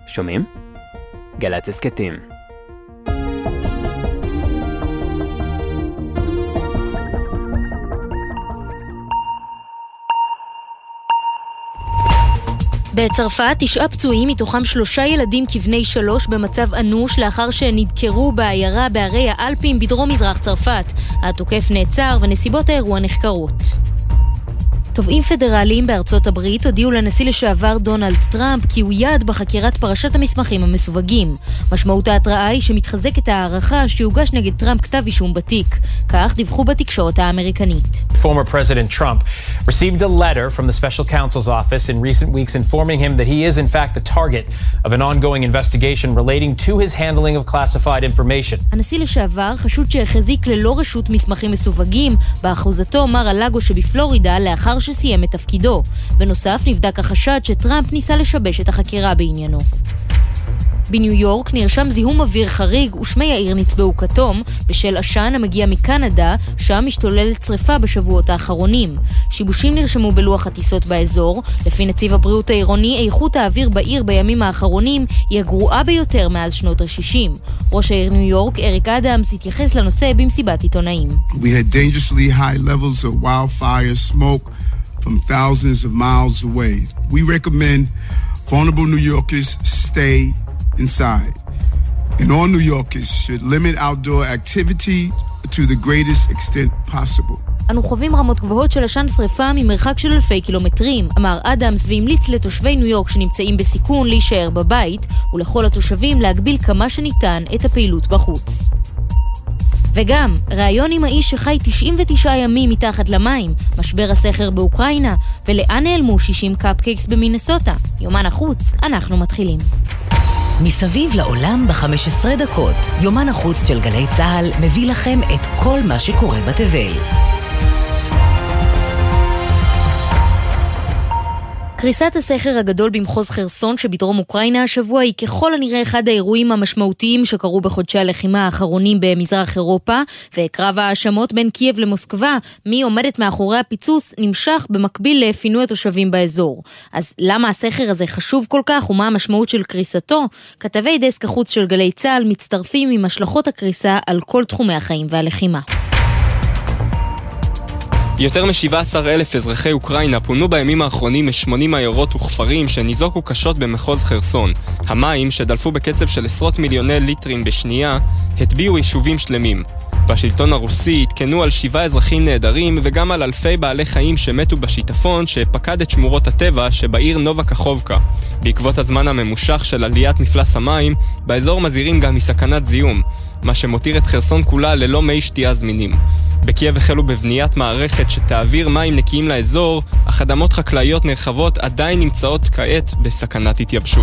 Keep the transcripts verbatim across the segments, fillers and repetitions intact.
שומעים? גל"צ הסכתים. בצרפת תשעה פצועים, מתוכם שלושה ילדים כבני שלוש במצב אנוש לאחר שנדקרו בעיירה בערי האלפים בדרום מזרח צרפת. התוקף נעצר ונסיבות האירוע נחקרות. תובעים פדרליים בארצות הברית הודיעו לנשיא לשעבר דונלד טראמפ כי הוא יעד בחקירת פרשת המסמכים המסווגים. משמעות ההתראה היא שמתחזקת הערכה שיוגש נגד טראמפ כתב אישום בתיק. כך דיווחו בתקשורת האמריקנית. Former President Trump received a letter from the special counsel's office in recent weeks informing him that he is in fact the target of an ongoing investigation relating to his handling of classified information. הנשיא לשעבר חשוד שהחזיק ללא רשות מסמכים מסווגים באחוזתו מר הלאגו שבפלורידה לאחר שסיים את תפקידו. בנוסף נבדק החשד שטראמפ ניסה לשבש את החקירה בעניינו. בניו יורק נרשם זיהום אוויר חריג ושמי העיר נצבעו כתום בשל עשן המגיע מקנדה, שם משתוללת שריפה בשבועות האחרונים. שיבושים נרשמו בלוח הטיסות באזור. לפי נציב הבריאות העירוני, איכות האוויר בעיר בימים האחרונים היא הגרועה ביותר מאז שנות ה-שישים. ראש העיר ניו יורק, אריק אדמס, התייחס לנושא במסיבת עיתונאים. We had dangerously high levels of wildfire smoke from thousands of miles away. We recommend vulnerable New Yorkers stay inside. And all New Yorkers should limit outdoor activity to the greatest extent possible. אנו חווים רמות גבוהות של עשן שריפה ממרחק של אלפי קילומטרים, אמר אדמס, והמליץ לתושבי ניו יורק שנמצאים בסיכון להישאר בבית, ולכל התושבים להגביל כמה שניתן את הפעילות בחוץ. וגם, ראיון עם האיש שחי תשעים ותשעה ימים מתחת למים, משבר הסכר באוקראינה, ולאן נעלמו שישים קאפקייקס במינסוטה. יומן החוץ, אנחנו מתחילים. מסביב לעולם ב-חמש עשרה דקות, יומן החוץ של גלי צהל מביא לכם את כל מה שקורה בתבל. קריסת הסכר הגדול במחוז חרסון שבדרום אוקראינה השבוע היא ככל הנראה אחד האירועים המשמעותיים שקרו בחודשי הלחימה האחרונים במזרח אירופה, וקרב האשמות בין קייב למוסקבה, מי עומדת מאחורי הפיצוץ, נמשך במקביל לפינוי התושבים באזור. אז למה הסכר הזה חשוב כל כך ומה המשמעות של קריסתו? כתבי דסק החוץ של גלי צהל מצטרפים עם השלכות הקריסה על כל תחומי החיים והלחימה. יותר מ-שבעה עשר אלף אזרחי אוקראינה פונו בימים האחרונים מ-שמונים עיירות וכפרים שניזוקו קשות במחוז חרסון. המים, שדלפו בקצב של עשרות מיליוני ליטרים בשנייה, הטביעו יישובים שלמים. בשלטון הרוסי התקנו על שבעה אזרחים נהדרים וגם על אלפי בעלי חיים שמתו בשיטפון שפקד את שמורות הטבע שבעיר נובה קחובקה. בעקבות הזמן הממושך של עליית מפלס המים, באזור מזהירים גם מסכנת זיהום, מה שמותיר את חרסון כולה ללא מי שתייה זמינים. בקייב החלו בבניית מערכת שתעביר מים נקיים לאזור, אך אדמות חקלאיות נרחבות עדיין נמצאות כעת בסכנת התייבשות.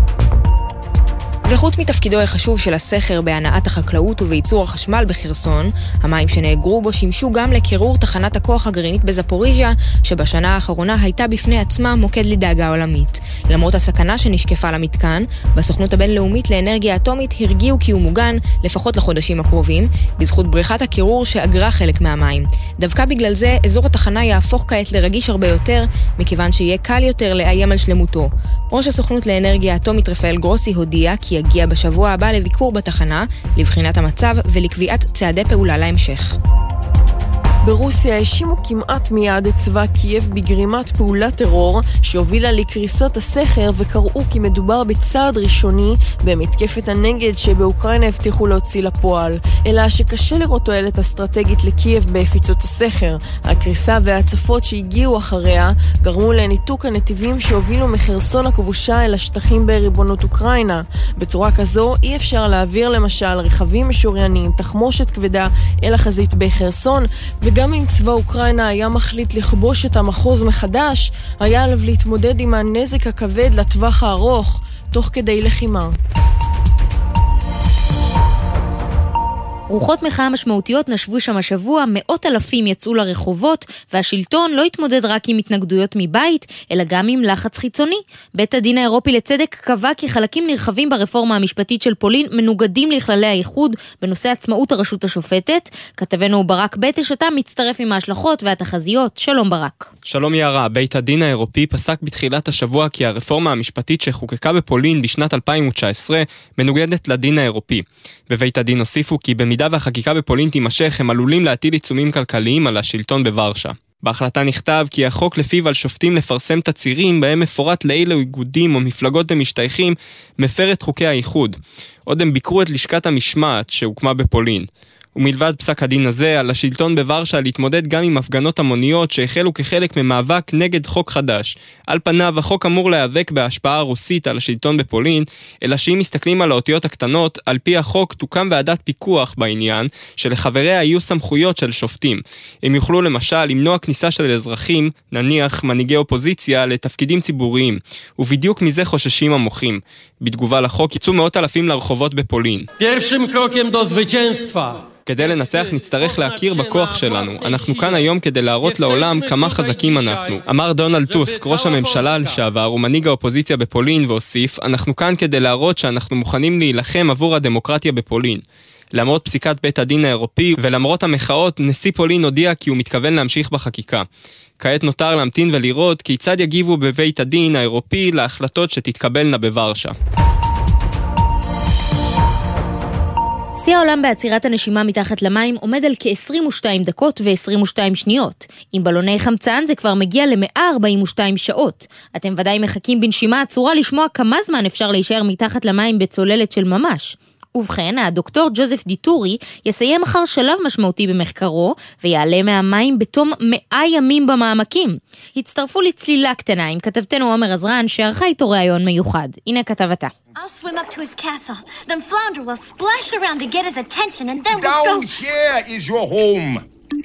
וחוץ מתפקידו החשוב של הסכר בהנעת החקלאות ובייצור החשמל בחרסון, המים שנאגרו בו שימשו גם לקירור תחנת הכוח הגרעינית בזפוריז'יה, שבשנה האחרונה הייתה בפני עצמה מוקד לדאגה עולמית. למרות הסכנה שנשקפה למתקן, בסוכנות הבינלאומית לאנרגיה אטומית הרגיעו כי הוא מוגן לפחות לחודשים הקרובים, בזכות בריכת הקירור שאגרה חלק מהמים. דווקא בגלל זה, אזור התחנה יהפוך כעת לרגיש הרבה יותר, מכיוון שיהיה קל יותר לאיים על שלמותו. ראש הסוכנות לאנרגיה אטומית רפאל גרוסי הודיע כי יגיע בשבוע הבא לביקור בתחנה, לבחינת המצב ולקביעת צעדי פעולה להמשך. ברוסיה האשימו כמעט מיד את צבא קייב בגרימת פעולת טרור שהובילה לקריסת הסכר, וקראו כי מדובר בצעד ראשוני במתקפת הנגד שבאוקראינה הבטיחו להוציא לפועל, אלא שקשה לראות תועלת אסטרטגית לקייב בהפיצות הסכר. הקריסה וההצפות שהגיעו אחריה גרמו לניתוק הנתיבים שהובילו מחרסון הכבושה אל השטחים בריבונות אוקראינה. בצורה כזו אי אפשר להעביר למשל רכבים משוריינים, תחמושת כבדה אל החזית בחרסון, וגם אם צבא אוקראינה היה מחליט לכבוש את המחוז מחדש, היה עליו להתמודד עם הנזק הכבד לטווח הארוך, תוך כדי לחימה. רוחות מחאה משמעותיות נשבו שם השבוע, מאות אלפים יצאו לרחובות, והשלטון לא התמודד רק עם התנגדויות מבית, אלא גם עם לחץ חיצוני. בית הדין האירופי לצדק קבע כי חלקים נרחבים ברפורמה המשפטית של פולין מנוגדים לכללי האיחוד בנושא עצמאות הרשות השופטת. כתבנו ברק בטש, אתה מצטרף עם ההשלכות והתחזיות. שלום ברק. שלום יערה. בית הדין האירופי פסק בתחילת השבוע כי הרפורמה המשפטית שחוקקה בפולין בשנת אלפיים תשע עשרה מנוגדת לדין האירופי. בבית הדין הוסיפו כי במידה והחקיקה בפולין תימשך, הם עלולים להטיל עיצומים כלכליים על השלטון בוורשה. בהחלטה נכתב כי החוק לפיו על שופטים לפרסם תצהירים בהם מפורט לאילו איגודים או מפלגות הם משתייכים מפר את חוקי האיחוד. עוד הם ביקרו את לשכת המשמעת שהוקמה בפולין. ומלבד פסק הדין הזה, על השלטון בוורשה להתמודד גם עם הפגנות המוניות שהחלו כחלק ממאבק נגד חוק חדש. על פניו, החוק אמור להיאבק בהשפעה הרוסית על השלטון בפולין, אלא שאם מסתכלים על האותיות הקטנות, על פי החוק תוקם ועדת פיקוח בעניין, שלחבריה יהיו סמכויות של שופטים. הם יוכלו למשל למנוע כניסה של אזרחים, נניח מנהיגי אופוזיציה, לתפקידים ציבוריים, ובדיוק מזה חוששים המוחים. בתגובה לחוק יצאו מאות אלפים לרחובות בפולין. Pierwszym krokiem do zwycięstwa. כדי לנצח נצטרך להכיר בכוח שלנו. אנחנו כאן היום כדי להראות לעולם כמה חזקים אנחנו. אמר דונלד טוסק, ראש הממשלה לשעבר ומנהיג האופוזיציה בפולין, והוסיף, אנחנו כאן כדי להראות שאנחנו מוכנים להילחם עבור הדמוקרטיה בפולין. למרות פסיקת בית הדין האירופי ולמרות המחאות, נשיא פולין הודיע כי הוא מתכוון להמשיך בחקיקה. כעת נותר להמתין ולראות כיצד יגיבו בבית הדין האירופי להחלטות שתתקבלנה בוורשה. שיא העולם בעצירת הנשימה מתחת למים עומד על כ-עשרים ושתיים דקות ו-עשרים ושתיים שניות. עם בלוני חמצן זה כבר מגיע ל-מאה ארבעים ושתיים שעות. אתם ודאי מחכים בנשימה עצורה לשמוע כמה זמן אפשר להישאר מתחת למים בצוללת של ממש. ובכן, הדוקטור ג'וזף דיטורי יסיים מחר שלב משמעותי במחקרו ויעלה מהמים בתום מאה ימים במעמקים. הצטרפו לצלילה קטנה עם כתבתנו עומר עזרן שערכה איתו ראיון מיוחד. הנה כתבתה. I'll swim up to his castle, then Flounder will splash around to get his attention, and then we'll go... Down here is your home.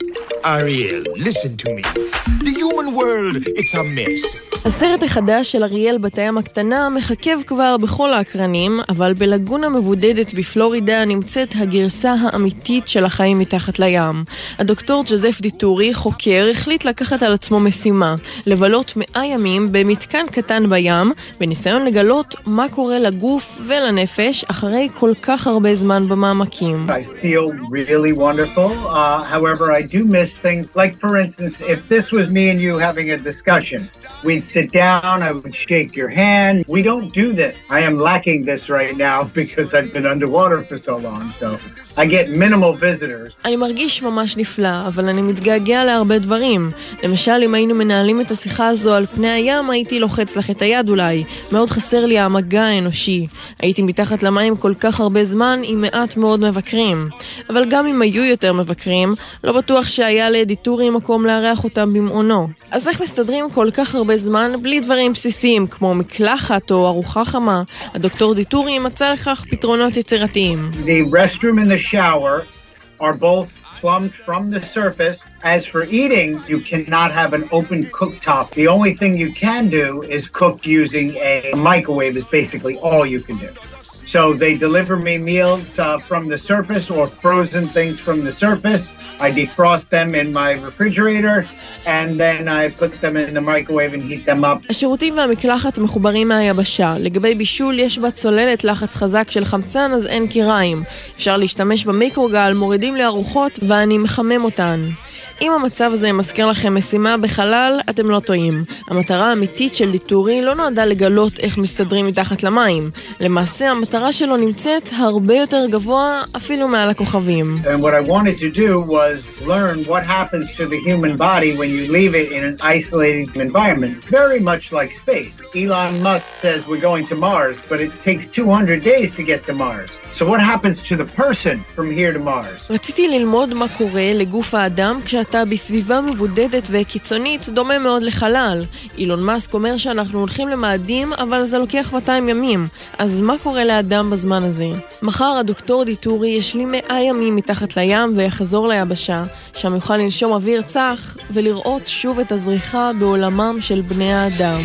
Ariel, listen to me. The human world, it's a mess. הסרט החדש של אריאל בת הים הקטנה מחכב כבר בכל האקרנים, אבל בלגונה מבודדת בפלורידה נמצאת הגרסה האמיתית של החיים מתחת לים. הדוקטור ג'וזף דיטורי, חוקר, החליט לקחת על עצמו משימה, לבלות מאה ימים במתקן קטן בים, בניסיון לגלות מה קורה לגוף ולנפש אחרי כל כך הרבה זמן במעמקים. I feel really wonderful. Uh, however, I do miss things. Like, for instance, if this was me and you having a discussion, we'd sit down, I would shake your hand. We don't do this. I am lacking this right now because I've been underwater for so long, so I get minimal visitors. אני מרגיש ממש נפלא, אבל אני מתגעגע להרבה דברים. למשל, אם היינו מנהלים את השיחה הזו על פני הים, הייתי לוחץ לך את היד אולי. מאוד חסר לי המגע האנושי. הייתי מתחת למים כל כך הרבה זמן עם מעט מאוד מבקרים. אבל גם אם היו יותר מבקרים, לא בטוח שהיה לדיטורי מקום לארח אותם במעונו. אז איך מסתדרים כל כך הרבה זמן בלי דברים בסיסיים כמו מקלחת או ארוחה חמה? הדוקטור דיטורי מצא לכך פתרונות יצירתיים. The restroom and the shower are both plumbed from the surface. As for eating, you cannot have an open cooktop. The only thing you can do is cook using a microwave is basically all you can do. So they deliver me meals uh, from the surface or frozen things from the surface. I defrost them in my refrigerator and then I put them in the microwave and heat them up. השירותים והמקלחת מחוברים מהיבשה. לגבי בישול יש בה צוללת לחץ חזק של חמצן, אז אין קיריים. אפשר להשתמש במיקרוגל, מורידים לארוחות ואני מחמם אותן. אם המצב הזה מזכיר לכם משימה בחלל, אתם לא טועים. המטרה האמיתית של דיטורי לא נועדה לגלות איך מסתדרים מתחת למים. למעשה, המטרה שלו נמצאת הרבה יותר גבוה, אפילו מעל הכוכבים. And what I wanted to do was learn what happens to the human body when you leave it in an isolated environment. Very much like space. Elon Musk says we're going to Mars, but it takes two hundred days to get to Mars. So what happens to the person from here to Mars? רציתי ללמוד מה קורה לגוף האדם כשאתה בסביבה מבודדת וקיצונית דומה מאוד לחלל. אילון מאסק אומר שאנחנו הולכים למאדים, אבל זה לוקח מאתיים ימים. אז מה קורה לאדם בזמן הזה? מחר הדוקטור דיטורי ישלים מאה ימים מתחת לים ויחזור ליבשה, שם יוכל לנשום אוויר צח ולראות שוב את הזריחה בעולמם של בני האדם.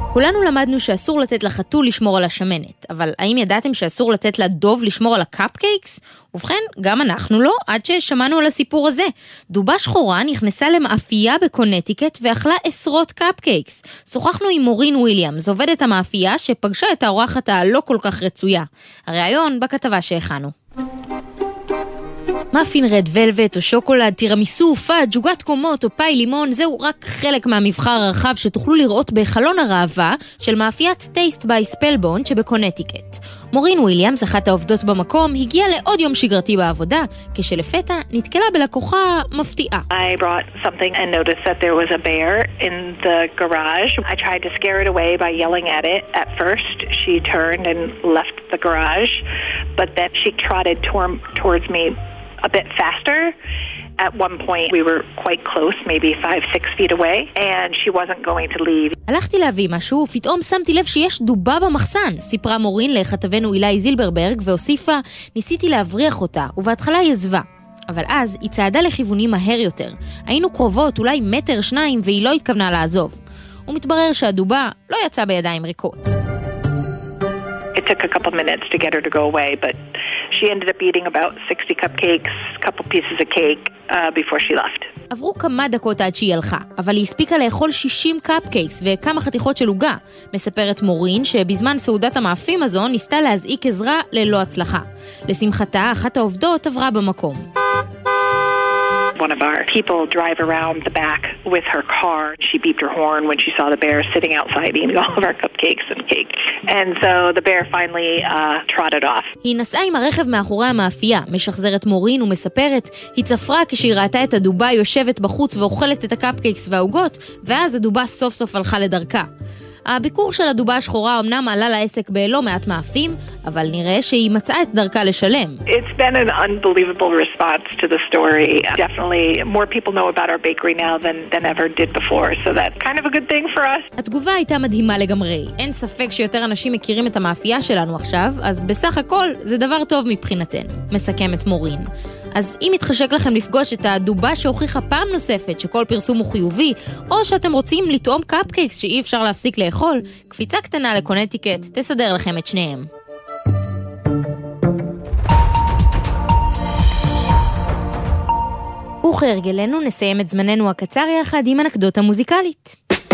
כולנו למדנו שאסור לתת לחתול לשמור על השמנת, אבל האם ידעתם שאסור לתת לדוב לשמור על הקאפקייקס? ובכן, גם אנחנו לא, עד ששמענו על הסיפור הזה. דובה שחורה נכנסה למאפייה בקונטיקט ואכלה עשרות קאפקייקס. שוחחנו עם מורין וויליאמס, עובדת המאפייה שפגשה את האורחת הלא כל כך רצויה. הראיון בכתבה שהכנו. מאפין רד ולווט או שוקולד, טירמיסו, פאג', עוגת קומות או פאי לימון, זהו רק חלק מהמבחר הרחב שתוכלו לראות בחלון הראווה של מאפיית טייסט ביי ספלבונד שבקונטיקט. מורין וויליאמס, אחת העובדות במקום, הגיעה לעוד יום שגרתי בעבודה, כשלפתע נתקלה בלקוחה מפתיעה. I brought something and noticed that there was a bear in the garage. I tried to scare it away by yelling at it. At first, she turned and left the garage, but then she trotted tor- towards me a bit faster. At one point we were quite close, maybe five, six feet away, and she wasn't going to leave. הלכתי להביא משהו, ופתאום שמתי לב שיש דובה במחסן, סיפרה מורין לכתבנו אילי זילברברג, והוסיפה, ניסיתי להבריח אותה, ובהתחלה היא עזבה. אבל אז היא צעדה לכיוונים מהר יותר. היינו קרובות, אולי מטר שניים, והיא לא התכוונה לעזוב. ומתברר שהדובה לא יצאה בידיים ריקות. It took a couple minutes to get her to go away, but she ended up eating about sixty cupcakes, a couple pieces of cake uh, before she left. עברו כמה דקות עד שהיא הלכה, אבל היא הספיקה לאכול שישים קאפקייקס וכמה חתיכות של עוגה. מספרת מורין שבזמן סעודת המאפים הזו ניסתה להזעיק עזרה ללא הצלחה. לשמחתה, אחת העובדות עברה במקום. One of our people drive around the back with her car. She beeped her horn when she saw the bear sitting outside eating all of our cupcakes and cake. And so the bear finally uh, trotted off. היא נסעה עם הרכב מאחורי המאפייה, משחזרת מורין ומספרת, היא צפרה כשהיא ראתה את הדובה יושבת בחוץ ואוכלת את הקפקייקס והעוגות, ואז הדובה סוף סוף הלכה לדרכה. הביקור של הדובה השחורה אמנם עלה לעסק בלא מעט מאפים, אבל נראה שהיא מצאה את דרכה לשלם. It's been an unbelievable response to the story. Definitely more people know about our bakery now than, than ever did before, so that's kind of a good thing for us. התגובה הייתה מדהימה לגמרי. אין ספק שיותר אנשים מכירים את המאפייה שלנו עכשיו, אז בסך הכל זה דבר טוב מבחינתנו, מסכמת מורין. אז אם מתחשק לכם לפגוש את הדובה שהוכיחה פעם נוספת שכל פרסום הוא חיובי, או שאתם רוצים לטעום קאפקייקס שאי אפשר להפסיק לאכול, קפיצה קטנה לקונטיקט תסדר לכם את שניהם. וכהרגלנו נסיים את זמננו הקצר יחד עם אנקדוטה מוזיקלית.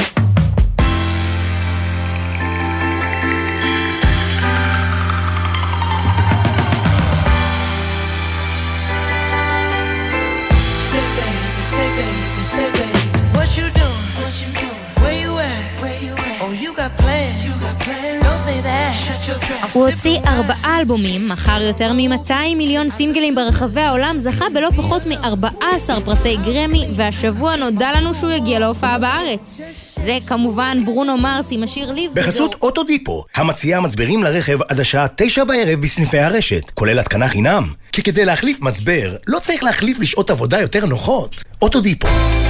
הוא הוציא ארבעה אלבומים, מכר יותר מ-מאתיים מיליון סינגלים ברחבי העולם, זכה בלא פחות מ-ארבעה עשר פרסי גרמי, והשבוע נודע לנו שהוא יגיע להופעה בארץ. זה כמובן ברונו מרס עם השיר ליב. בחסות אוטודיפו, המציעה מצברים לרכב עד השעה תשע בערב בסניפי הרשת, כולל התקנה חינם. כי כדי להחליף מצבר, לא צריך להחליף לשעות עבודה יותר נוחות. אוטודיפו.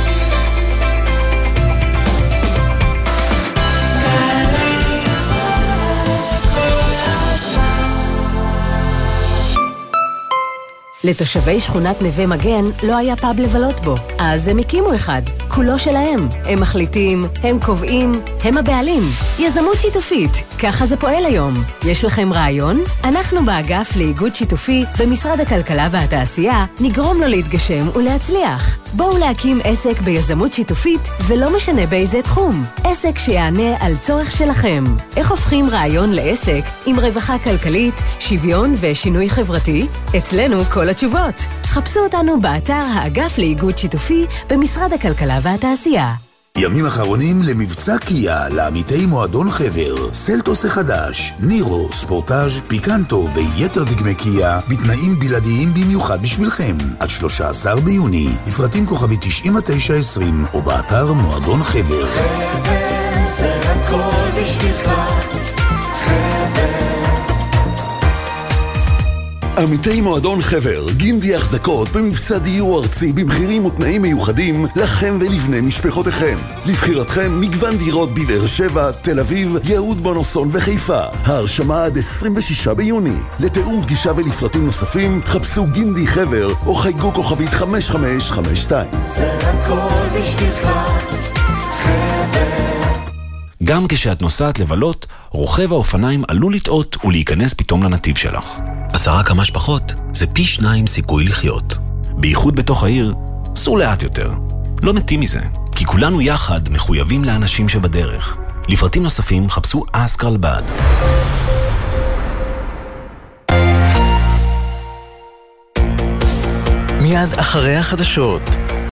לתושבי שכונת נווה מגן לא היה פאב לבלות בו, אז הם הקימו אחד, כולו שלהם. הם מחליטים, הם קובעים, הם הבעלים. יזמות שיתופית, ככה זה פועל היום. יש לכם רעיון? אנחנו באגף לאיגוד שיתופי במשרד הכלכלה והתעשייה נגרום לו להתגשם ולהצליח. בואו להקים עסק ביזמות שיתופית ולא משנה באיזה תחום. עסק שיענה על צורך שלכם. איך הופכים רעיון לעסק עם רווחה כלכלית, שוויון ושינוי חברתי? אצלנו כל התשובות. חפשו אותנו באתר האגף לאיגוד שיתופי במשרד הכלכלה והתעשייה. ימים אחרונים למבצע קיה לעמיתי מועדון חבר, סלטוס החדש, נירו, ספורטאז', פיקנטו ויתר דגמי קיה בתנאים בלעדיים במיוחד בשבילכם עד שלושה עשר ביוני, לפרטים כוכבי תשעים ותשע עשרים או באתר מועדון חבר. חבר זה הכל בשבילך, חבר. עמיתי מועדון חבר, גינדי החזקות במבצע דיור ארצי במחירים ותנאים מיוחדים לכם ולבני משפחותיכם. לבחירתכם מגוון דירות בבאר שבע, תל אביב, יהוד בונוסון וחיפה. ההרשמה עד עשרים ושישה ביוני. לתאום פגישה ולפרטים נוספים חפשו גינדי חבר או חייגו כוכבית חמש חמש חמש שתיים. זה הכל בשבילך, חבר. גם כשאת נוסעת לבלות, רוכב האופניים עלול לטעות ולהיכנס פתאום לנתיב שלך. עשרה כמה שפחות זה פי שניים סיכוי לחיות. בייחוד בתוך העיר, סעו לאט יותר. לא מתים מזה, כי כולנו יחד מחויבים לאנשים שבדרך. לפרטים נוספים חפשו אסק רלב"ד. מיד אחרי החדשות.